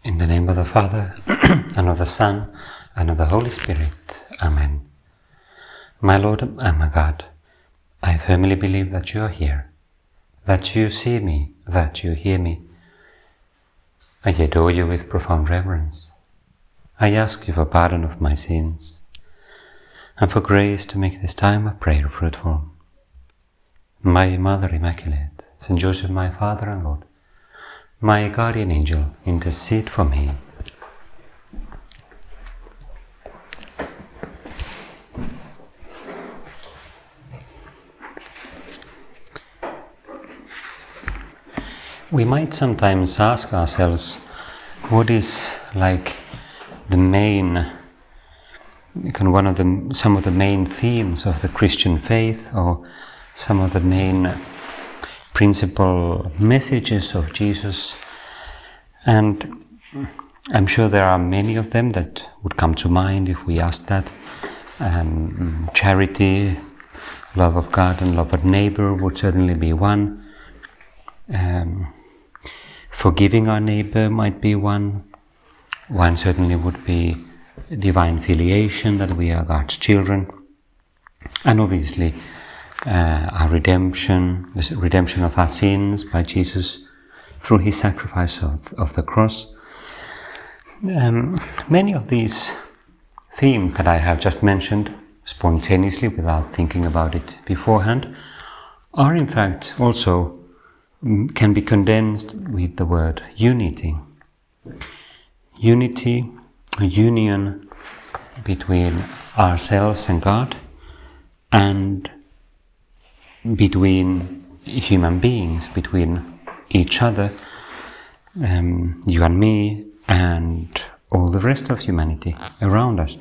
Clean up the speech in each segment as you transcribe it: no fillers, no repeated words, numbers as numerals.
In the name of the Father, and of the Son, and of the Holy Spirit. Amen. My Lord and my God, I firmly believe that you are here, that you see me, that you hear me. I adore you with profound reverence. I ask you for pardon of my sins, and for grace to make this time of prayer fruitful. My Mother Immaculate, Saint Joseph, my Father and Lord, my guardian angel, intercede for me. We might sometimes ask ourselves, what is like the main, some of the main themes of the Christian faith, or some of the main principal messages of Jesus? And I'm sure there are many of them that would come to mind if we asked that. Charity, love of God and love of neighbor would certainly be one. Forgiving our neighbor might be one. One certainly would be divine filiation, that we are God's children. And obviously our redemption, the redemption of our sins by Jesus through his sacrifice of the cross. Many of these themes that I have just mentioned spontaneously, without thinking about it beforehand, are in fact also can be condensed with the word unity. Unity, a union between ourselves and God, and between human beings, between each other, you and me, and all the rest of humanity around us.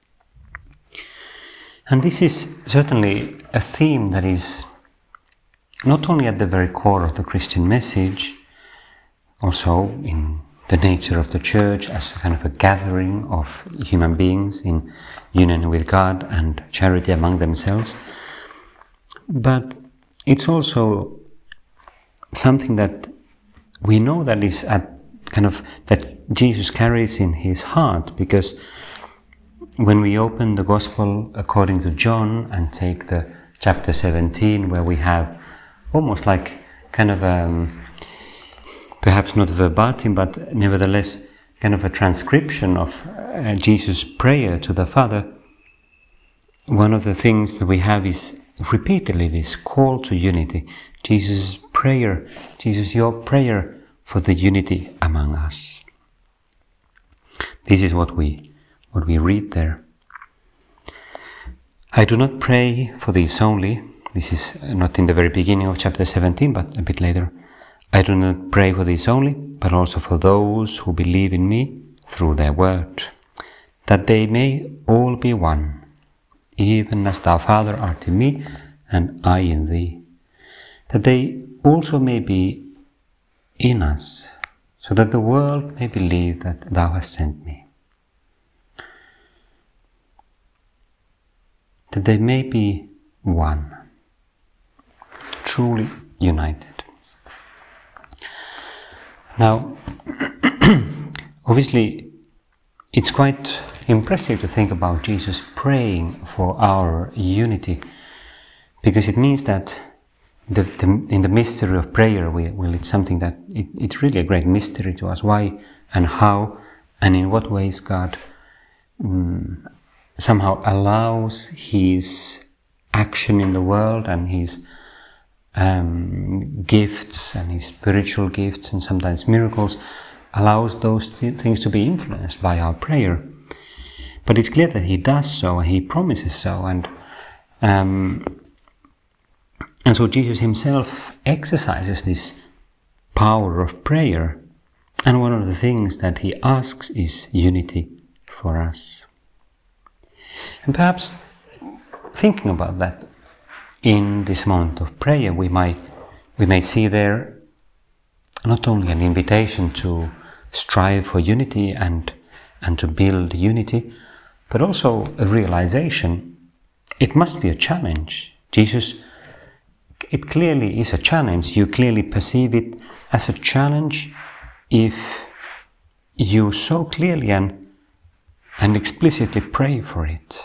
And this is certainly a theme that is not only at the very core of the Christian message, also in the nature of the Church as a kind of a gathering of human beings in union with God and charity among themselves, but it's also something that we know that is that Jesus carries in his heart, because when we open the Gospel according to John and take the chapter 17, where we have almost like perhaps not verbatim, but nevertheless kind of a transcription of Jesus' prayer to the Father, one of the things that we have is repeatedly this call to unity. Jesus' prayer, Jesus, your prayer for the unity among us. This is what we read there. I do not pray for these only. This is not in the very beginning of chapter 17, but a bit later. I do not pray for these only, but also for those who believe in me through their word, that they may all be one, even as thou, Father, art in me, and I in thee, that they also may be in us, so that the world may believe that thou hast sent me. That they may be one, truly united. Now, obviously, it's quite impressive to think about Jesus praying for our unity, because it means that in the mystery of prayer, it's something that it's really a great mystery to us. Why and how and in what ways God somehow allows his action in the world and his gifts and his spiritual gifts and sometimes miracles, allows those things to be influenced by our prayer. But it's clear that he does so, and he promises so, and so Jesus himself exercises this power of prayer, and one of the things that he asks is unity for us. And perhaps thinking about that in this moment of prayer, we may see there not only an invitation to strive for unity and to build unity, but also a realization it must be a challenge. Jesus, it clearly is a challenge. You clearly perceive it as a challenge if you so clearly and explicitly pray for it.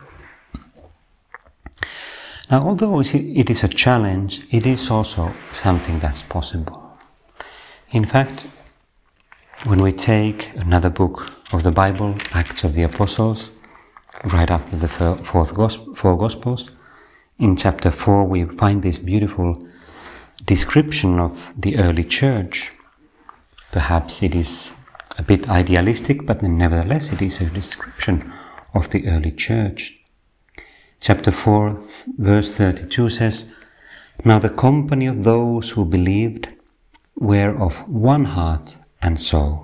Now, although it is a challenge, it is also something that's possible. In fact, when we take another book of the Bible, Acts of the Apostles, right after the four Gospels, in chapter 4 we find this beautiful description of the early church. Perhaps it is a bit idealistic, but nevertheless it is a description of the early church. Chapter 4, verse 32 says, "Now the company of those who believed were of one heart and soul."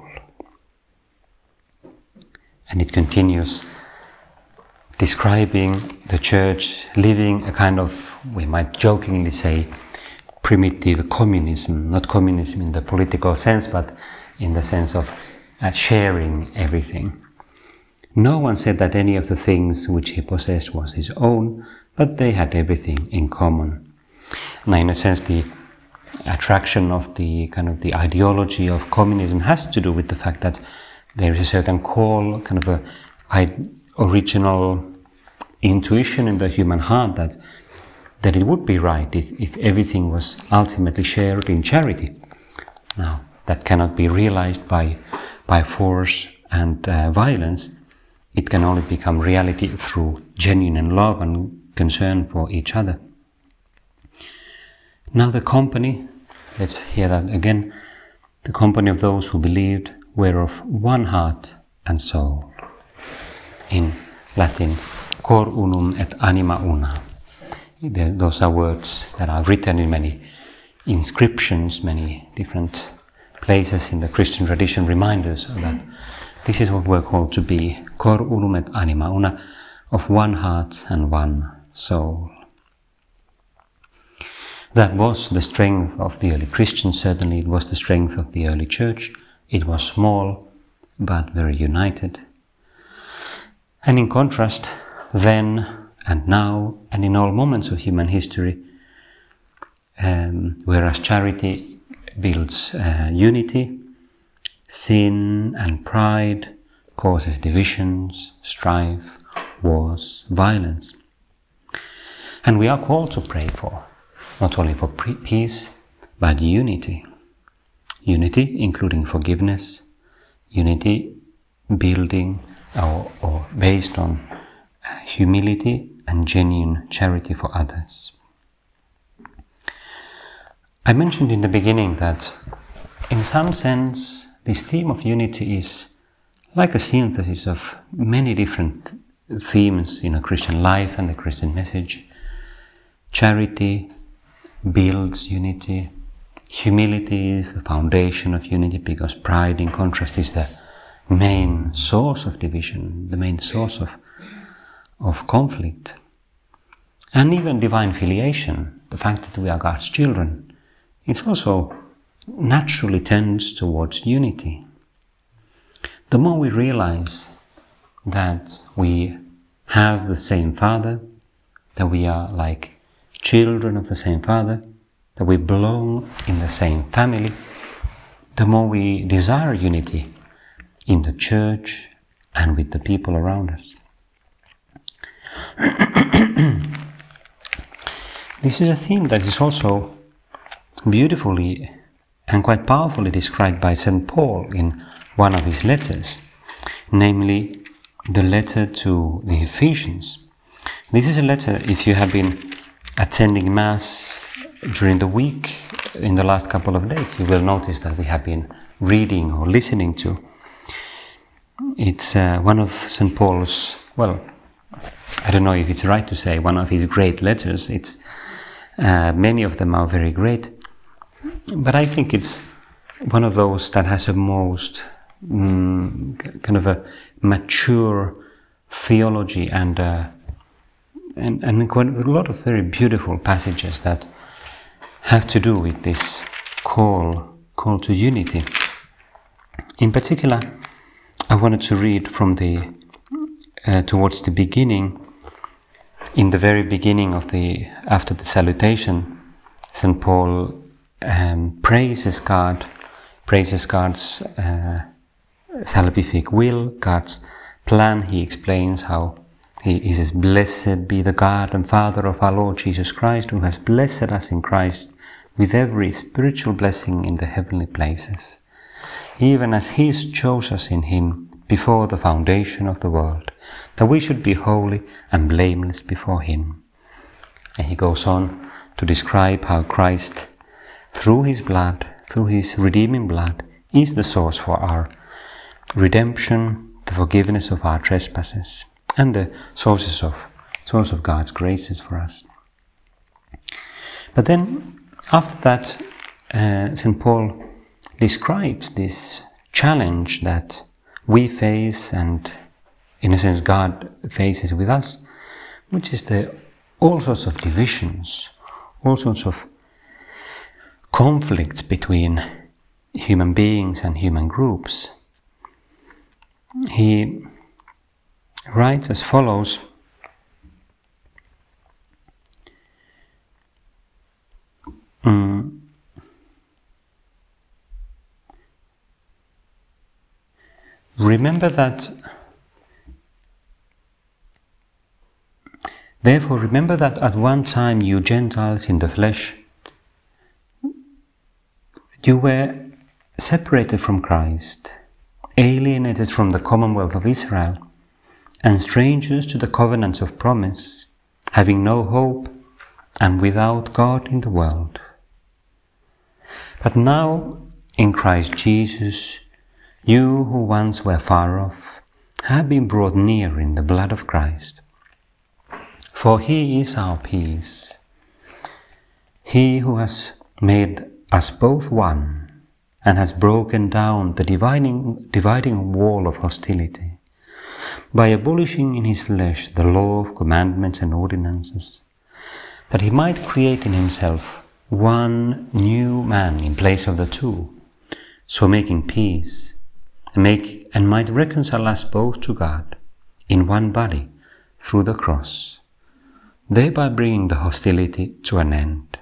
And it continues describing the church living a kind of, we might jokingly say, primitive communism. Not communism in the political sense, but in the sense of sharing everything. No one said that any of the things which he possessed was his own, but they had everything in common. Now, in a sense, the attraction of the kind of the ideology of communism has to do with the fact that there is a certain call, kind of a original intuition in the human heart that it would be right if everything was ultimately shared in charity. Now, that cannot be realized by force and violence. It can only become reality through genuine love and concern for each other. Now the company, let's hear that again, the company of those who believed were of one heart and soul. In Latin, cor unum et anima una. Those are words that are written in many inscriptions, many different places in the Christian tradition, reminders of that. This is what we're called to be, cor unum et anima una, of one heart and one soul. That was the strength of the early Christians, certainly it was the strength of the early church. It was small, but very united. And in contrast, then and now, and in all moments of human history, whereas charity builds unity, sin and pride causes divisions, strife, wars, violence. And we are called to pray for, not only for peace, but unity. Unity including forgiveness, unity building or based on humility and genuine charity for others. I mentioned in the beginning that in some sense this theme of unity is like a synthesis of many different themes in a Christian life and the Christian message. Charity builds unity. Humility is the foundation of unity, because pride, in contrast, is the main source of division, the main source of conflict. And even divine filiation, the fact that we are God's children, it also naturally tends towards unity. The more we realize that we have the same Father, that we are like children of the same Father, that we belong in the same family, the more we desire unity in the church and with the people around us. This is a theme that is also beautifully and quite powerfully described by St. Paul in one of his letters, namely the letter to the Ephesians. This is a letter, if you have been attending Mass during the week, in the last couple of days, you will notice that we have been reading or listening to. It's one of St. Paul's, well, I don't know if it's right to say one of his great letters. It's many of them are very great, but I think it's one of those that has a most kind of a mature theology and quite a lot of very beautiful passages that have to do with this call to unity. In particular, I wanted to read from the towards the beginning. In the very beginning of after the salutation, St. Paul praises God's salvific will, God's plan, he explains how he says, "Blessed be the God and Father of our Lord Jesus Christ, who has blessed us in Christ with every spiritual blessing in the heavenly places, even as he chose us in him before the foundation of the world, that we should be holy and blameless before him." And he goes on to describe how Christ, through his blood, through his redeeming blood, is the source for our redemption, the forgiveness of our trespasses, and the source of God's graces for us. But then, after that, St. Paul describes this challenge that we face, and in a sense God faces with us, which is all sorts of divisions, all sorts of conflicts between human beings and human groups. He writes as follows: Therefore remember that at one time you Gentiles in the flesh, you were separated from Christ, alienated from the commonwealth of Israel, and strangers to the covenants of promise, having no hope and without God in the world. But now, in Christ Jesus, you who once were far off have been brought near in the blood of Christ. For he is our peace, he who has made us both one and has broken down the dividing wall of hostility, by abolishing in his flesh the law of commandments and ordinances, that he might create in himself one new man in place of the two, so making peace, and might reconcile us both to God in one body through the cross, thereby bringing the hostility to an end.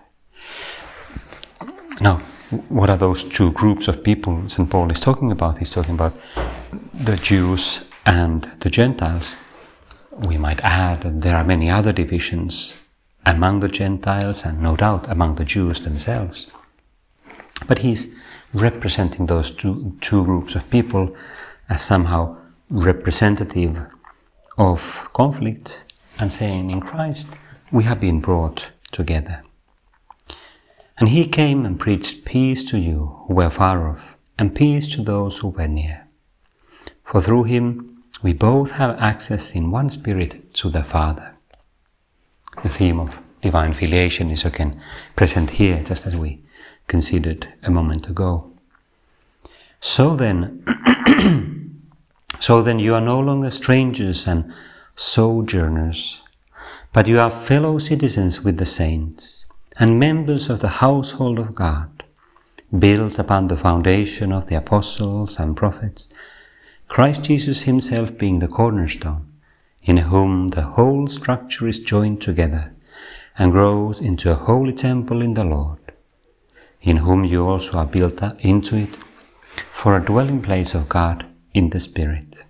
Now, what are those two groups of people St. Paul is talking about? He's talking about the Jews and the Gentiles. We might add that there are many other divisions among the Gentiles and no doubt among the Jews themselves. But he's representing those two groups of people as somehow representative of conflict and saying, in Christ we have been brought together. And he came and preached peace to you who were far off, and peace to those who were near. For through him we both have access in one spirit to the Father. The theme of divine filiation is again present here, just as we considered a moment ago. So then you are no longer strangers and sojourners, but you are fellow citizens with the saints and members of the household of God, built upon the foundation of the apostles and prophets, Christ Jesus himself being the cornerstone, in whom the whole structure is joined together and grows into a holy temple in the Lord, in whom you also are built into it for a dwelling place of God in the Spirit.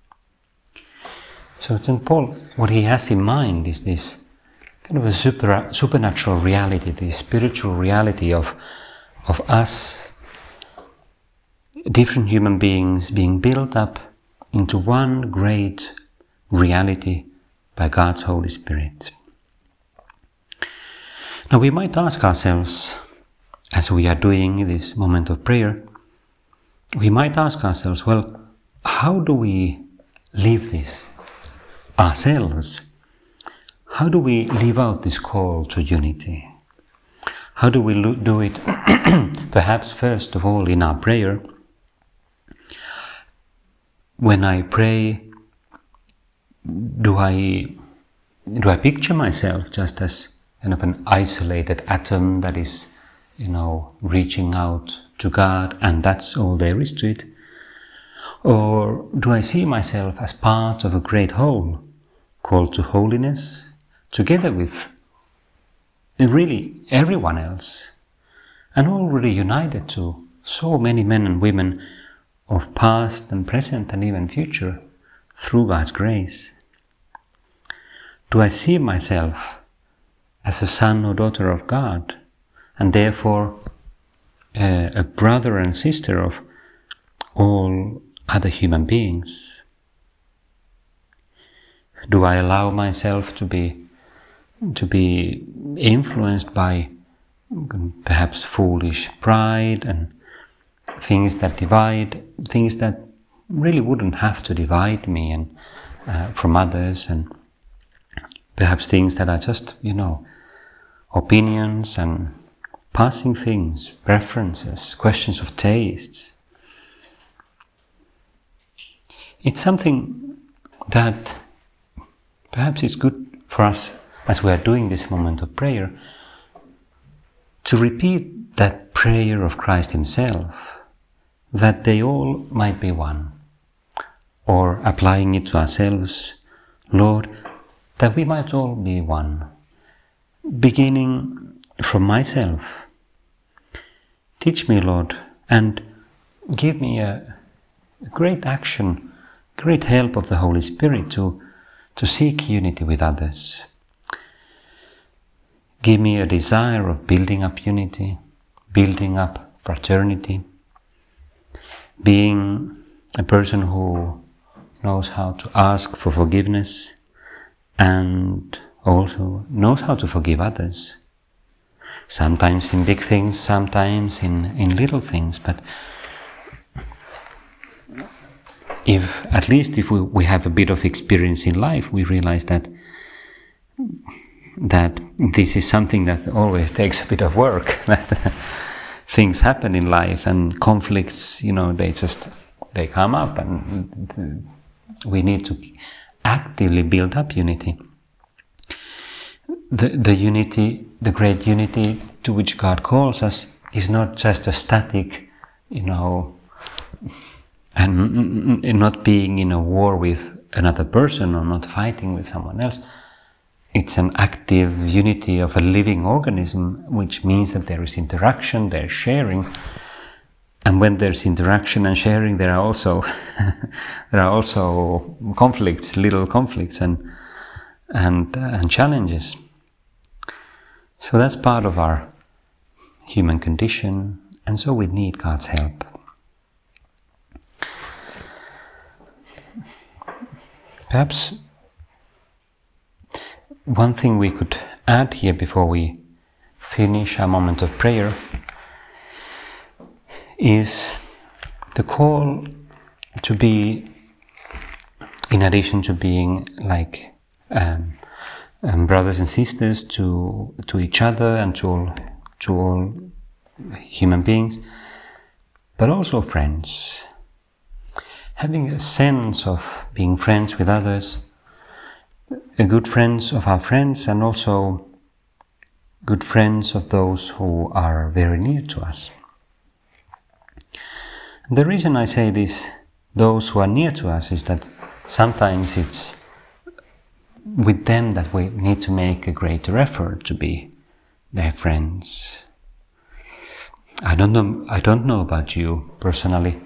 So St. Paul, what he has in mind is this kind of a supernatural reality, the spiritual reality of us, different human beings being built up into one great reality by God's Holy Spirit. Now we might ask ourselves, as we are doing in this moment of prayer, we might ask ourselves, well, how do we live this ourselves? How do we live out this call to unity? How do we do it? Perhaps first of all in our prayer. When I pray, do I picture myself just as kind of an isolated atom that is, reaching out to God, and that's all there is to it? Or do I see myself as part of a great whole, called to holiness, together with really everyone else, and already united to so many men and women of past and present and even future through God's grace? Do I see myself as a son or daughter of God, and therefore a brother and sister of all other human beings? Do I allow myself to be influenced by perhaps foolish pride and things that divide, things that really wouldn't have to divide me and from others, and perhaps things that are just, opinions and passing things, preferences, questions of tastes? It's something that perhaps it's good for us, as we are doing this moment of prayer, to repeat that prayer of Christ Himself, that they all might be one, or applying it to ourselves, Lord, that we might all be one, beginning from myself. Teach me, Lord, and give me a great action, great help of the Holy Spirit to seek unity with others. Give me a desire of building up unity, building up fraternity, being a person who knows how to ask for forgiveness and also knows how to forgive others. Sometimes in big things, sometimes in little things, but at least if we have a bit of experience in life, we realize that this is something that always takes a bit of work, that things happen in life and conflicts, they come up, and we need to actively build up unity. The unity, the great unity to which God calls us, is not just a static, and not being in a war with another person or not fighting with someone else. It's an active unity of a living organism, which means that there is interaction, there's sharing. And when there's interaction and sharing, there are also conflicts, little conflicts and challenges. So that's part of our human condition, and so we need God's help. Perhaps one thing we could add here before we finish our moment of prayer is the call to be, in addition to being like brothers and sisters to each other and to all human beings, but also friends. Having a sense of being friends with others, a good friends of our friends, and also good friends of those who are very near to us. The reason I say this, those who are near to us, is that sometimes it's with them that we need to make a greater effort to be their friends. I don't know about you personally,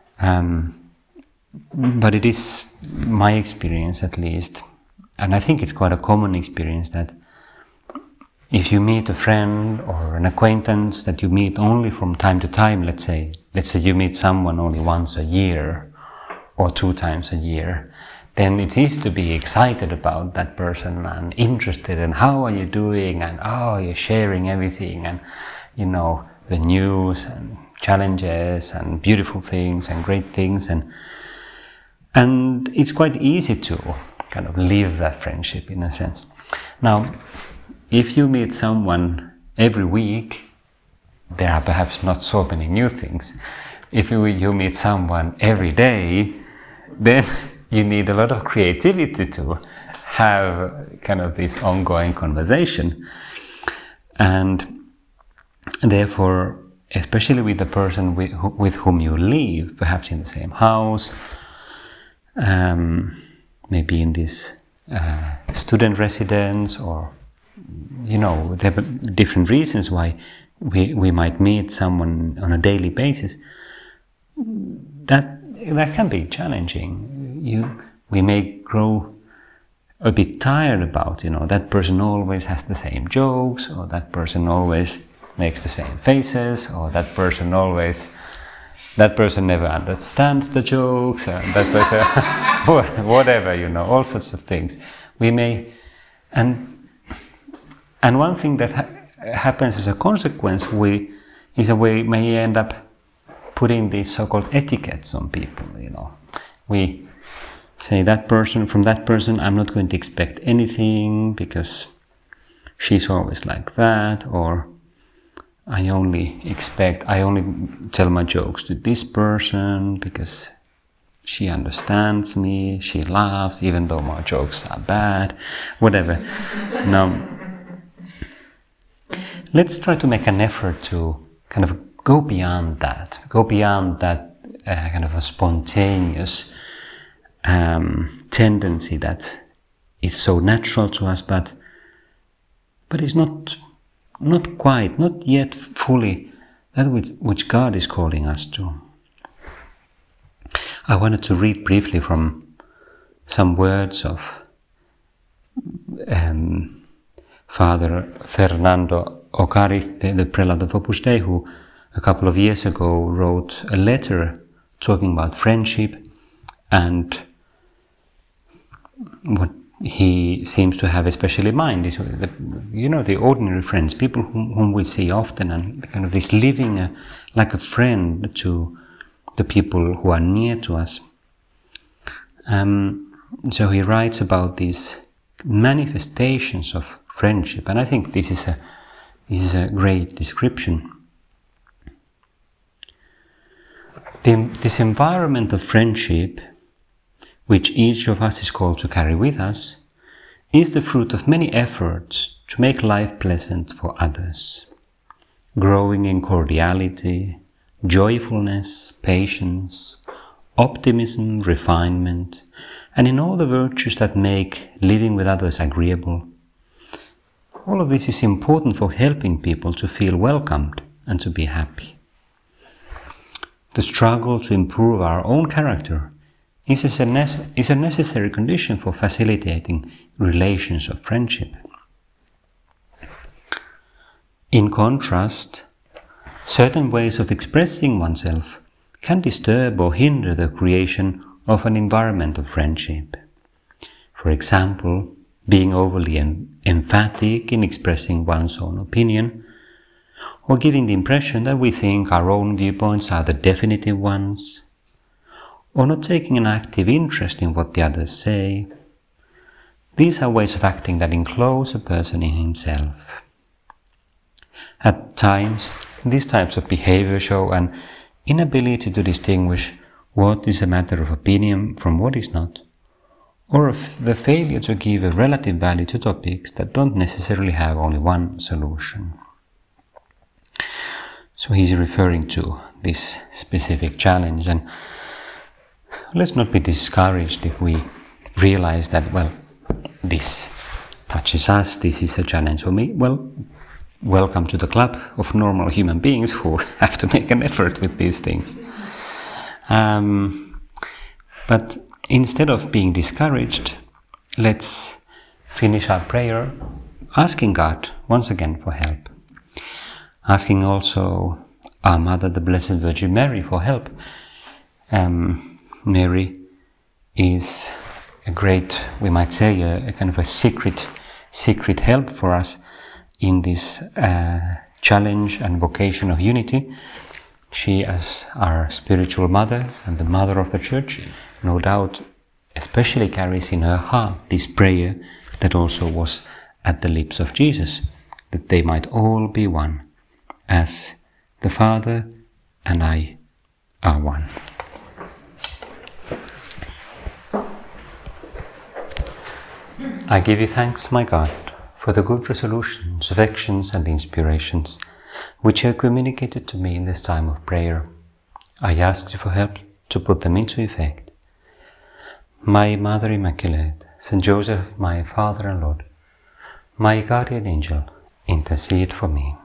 but it is my experience, at least, and I think it's quite a common experience, that if you meet a friend or an acquaintance that you meet only from time to time, let's say you meet someone only once a year or 2 times a year, then it's easy to be excited about that person and interested in how are you doing, and you're sharing everything, and the news and challenges and beautiful things and great things, and it's quite easy to kind of live that friendship in a sense. Now, if you meet someone every week, there are perhaps not so many new things. If you meet someone every day, then you need a lot of creativity to have kind of this ongoing conversation. And therefore, especially with the person with whom you live, perhaps in the same house, maybe in this student residence, or there are different reasons why we might meet someone on a daily basis. That that can be challenging. We may grow a bit tired about, that person always has the same jokes, or that person always makes the same faces, or that person never understands the jokes, that person, whatever, all sorts of things. We may, and one thing that happens as a consequence, we may end up putting these so-called etiquettes on people, We say from that person, I'm not going to expect anything because she's always like that, or I only tell my jokes to this person because she understands me, she laughs even though my jokes are bad, whatever. Now, let's try to make an effort to kind of go beyond that kind of a spontaneous tendency that is so natural to us, but is not yet fully that which God is calling us to. I wanted to read briefly from some words of Father Fernando Ocariz, the prelate of Opus Dei, who a couple of years ago wrote a letter talking about friendship, and what he seems to have especially in mind is the ordinary friends, people whom we see often, and kind of this living like a friend to the people who are near to us. So he writes about these manifestations of friendship, and I think this is a great description. This environment of friendship, which each of us is called to carry with us, is the fruit of many efforts to make life pleasant for others, growing in cordiality, joyfulness, patience, optimism, refinement, and in all the virtues that make living with others agreeable. All of this is important for helping people to feel welcomed and to be happy. The struggle to improve our own character is a necessary condition for facilitating relations of friendship. In contrast, certain ways of expressing oneself can disturb or hinder the creation of an environment of friendship. For example, being overly emphatic in expressing one's own opinion, or giving the impression that we think our own viewpoints are the definitive ones, or not taking an active interest in what the others say. These are ways of acting that enclose a person in himself. At times, these types of behavior show an inability to distinguish what is a matter of opinion from what is not, or the failure to give a relative value to topics that don't necessarily have only one solution. So he's referring to this specific challenge, and let's not be discouraged if we realize that, this touches us, this is a challenge for me. Welcome to the club of normal human beings who have to make an effort with these things. But instead of being discouraged, let's finish our prayer asking God once again for help. Asking also our Mother, the Blessed Virgin Mary, for help. Mary is a great, we might say, a kind of a secret help for us in this challenge and vocation of unity. She, as our spiritual mother and the mother of the Church, no doubt especially carries in her heart this prayer that also was at the lips of Jesus, that they might all be one, as the Father and I are one. I give you thanks, my God, for the good resolutions, affections and inspirations which you have communicated to me in this time of prayer. I ask you for help to put them into effect. My Mother Immaculate, Saint Joseph, my Father and Lord, my guardian angel, intercede for me.